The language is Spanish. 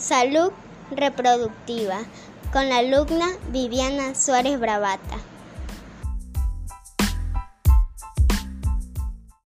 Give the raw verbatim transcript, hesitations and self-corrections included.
Salud Reproductiva con la alumna Viviana Suárez Bravata.